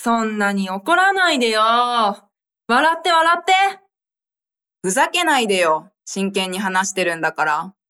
そんなに怒らないでよ。笑って笑って。 ふざけないでよ。真剣に話してるんだから。